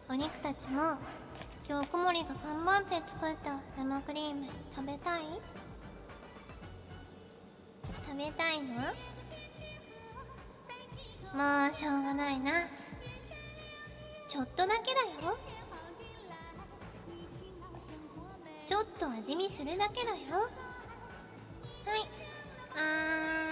お肉たちも今日小森が頑張って作った生クリーム食べたい？食べたいの？もうしょうがないな。ちょっとだけだよ。ちょっと味見するだけだよ。はい。